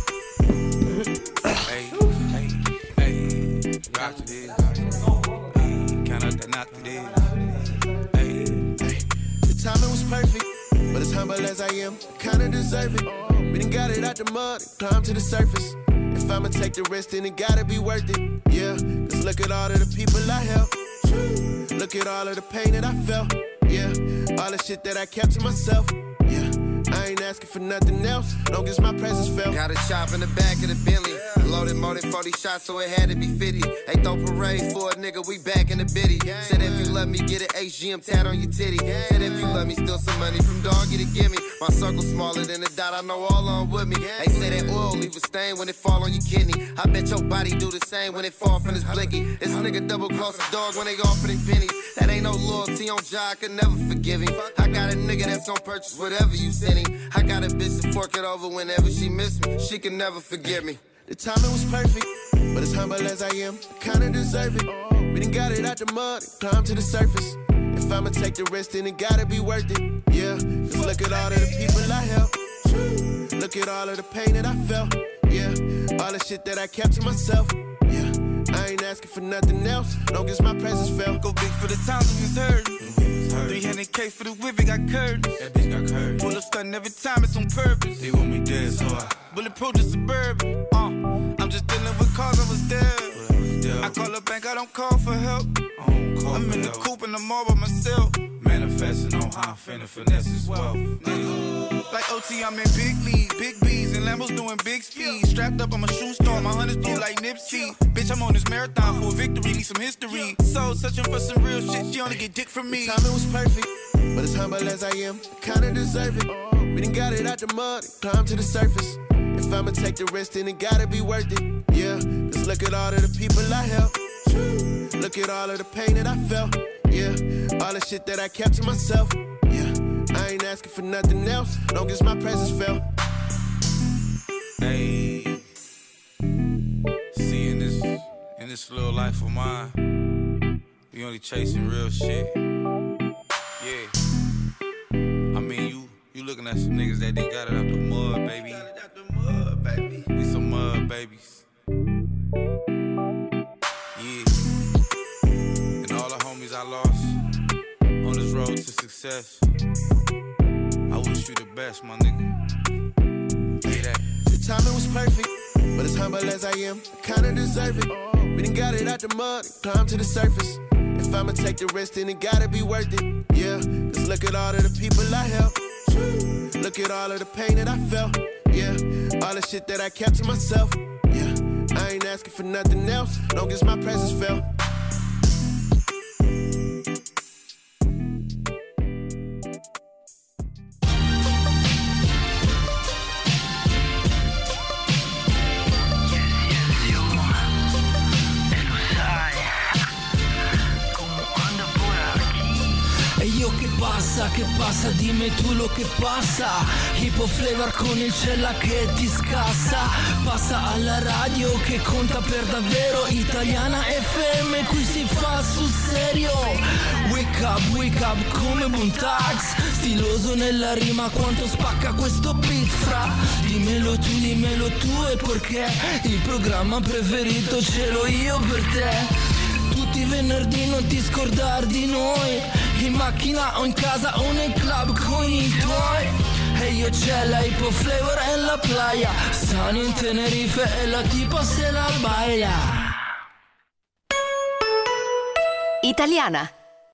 The timing was perfect, but as humble as I am, kinda deserve it. We done got it out the mud and climbed to the surface. If I'ma take the risk, then it gotta be worth it. Yeah, cause look at all of the people I helped. Look at all of the pain that I felt. Yeah, all the shit that I kept to myself. Yeah, I ain't asking for nothing else, long as my presence felt. Got a shop in the back of the Bentley. Loaded more than 40 shots, so it had to be 50. They throw parade for a nigga, we back in the biddy. Said if you love me, get an HGM tat on your titty. Said if you love me, steal some money from doggy to give me. My circle smaller than a dot, I know all on with me. They say that oil leave a stain when it fall on your kidney. I bet your body do the same when it fall from this blicky. This nigga double cross the dog when they offering pennies. That ain't no loyalty on Jah, I could never forgive him. I got a nigga that's gon' purchase whatever you send him. I got a bitch to fork it over whenever she miss me. She can never forgive me. The timing was perfect, but as humble as I am, kinda deserve it. We done got it out the mud and climbed to the surface. If I'ma take the risk, then it gotta be worth it. Yeah, cause look at all of the people I helped. Look at all of the pain that I felt. Yeah, all the shit that I kept to myself. Yeah, I I ain't asking for nothing else, long as my presence felt. Go big for the times we was hurt. 300K for the whip, it got curtains. That bitch got curtains. Pull up stunting every time, it's on purpose. They want me dead, so I bulletproof the Suburban. I'm just dealing with cause I was dead. I call a bank, I don't call for help. I'm in the coupe and I'm all by myself. Manifesting on how I'm finna finesse as well. Like OT, I'm in big league, big B's and Lambos doing big speed. Strapped up, I'm a shoe store, my hunters blue like Nipsey. Bitch, I'm on this marathon for a victory, need some history. So searching for some real shit, she only get dick from me. The timing was perfect, but as humble as I am, kinda deserve it. We done got it out the mud, climb to the surface. If I'ma take the risk, then it gotta be worth it. Yeah, cause look at all of the people I helped. Look at all of the pain that I felt. Yeah, all the shit that I kept to myself. Yeah, I ain't asking for nothing else, long as my presence felt. Hey, see in this little life of mine, we only chasing real shit. Yeah, I mean you looking at some niggas that done got it out the mud, baby. We some mud babies. Yeah, and all the homies I lost on this road to success, I wish you the best, my nigga. Hear that? The timing was perfect, but as humble as I am, I kinda deserve it. We done got it out the mud, climb to the surface. If I'ma take the risk, then it gotta be worth it. Yeah, cause look at all of the people I helped. Look at all of the pain that I felt. Yeah, all the shit that I kept to myself. Yeah, I ain't asking for nothing else, long as my presence felt. Che passa, dimmi tu lo che passa. Hip Hop Flavor con il cella che ti scassa. Passa alla radio che conta per davvero. Italiana FM, qui si fa sul serio. Wake up come Buntax. Stiloso nella rima, quanto spacca questo beat fra. Dimmelo tu e perché il programma preferito ce l'ho io per te. Tutti i venerdì non ti scordar di noi. In macchina o in casa o nel club con i tuoi. E io c'è la Hip Hop Flavor e la playa. Stanno in Tenerife e la tipa se la baila. Italiana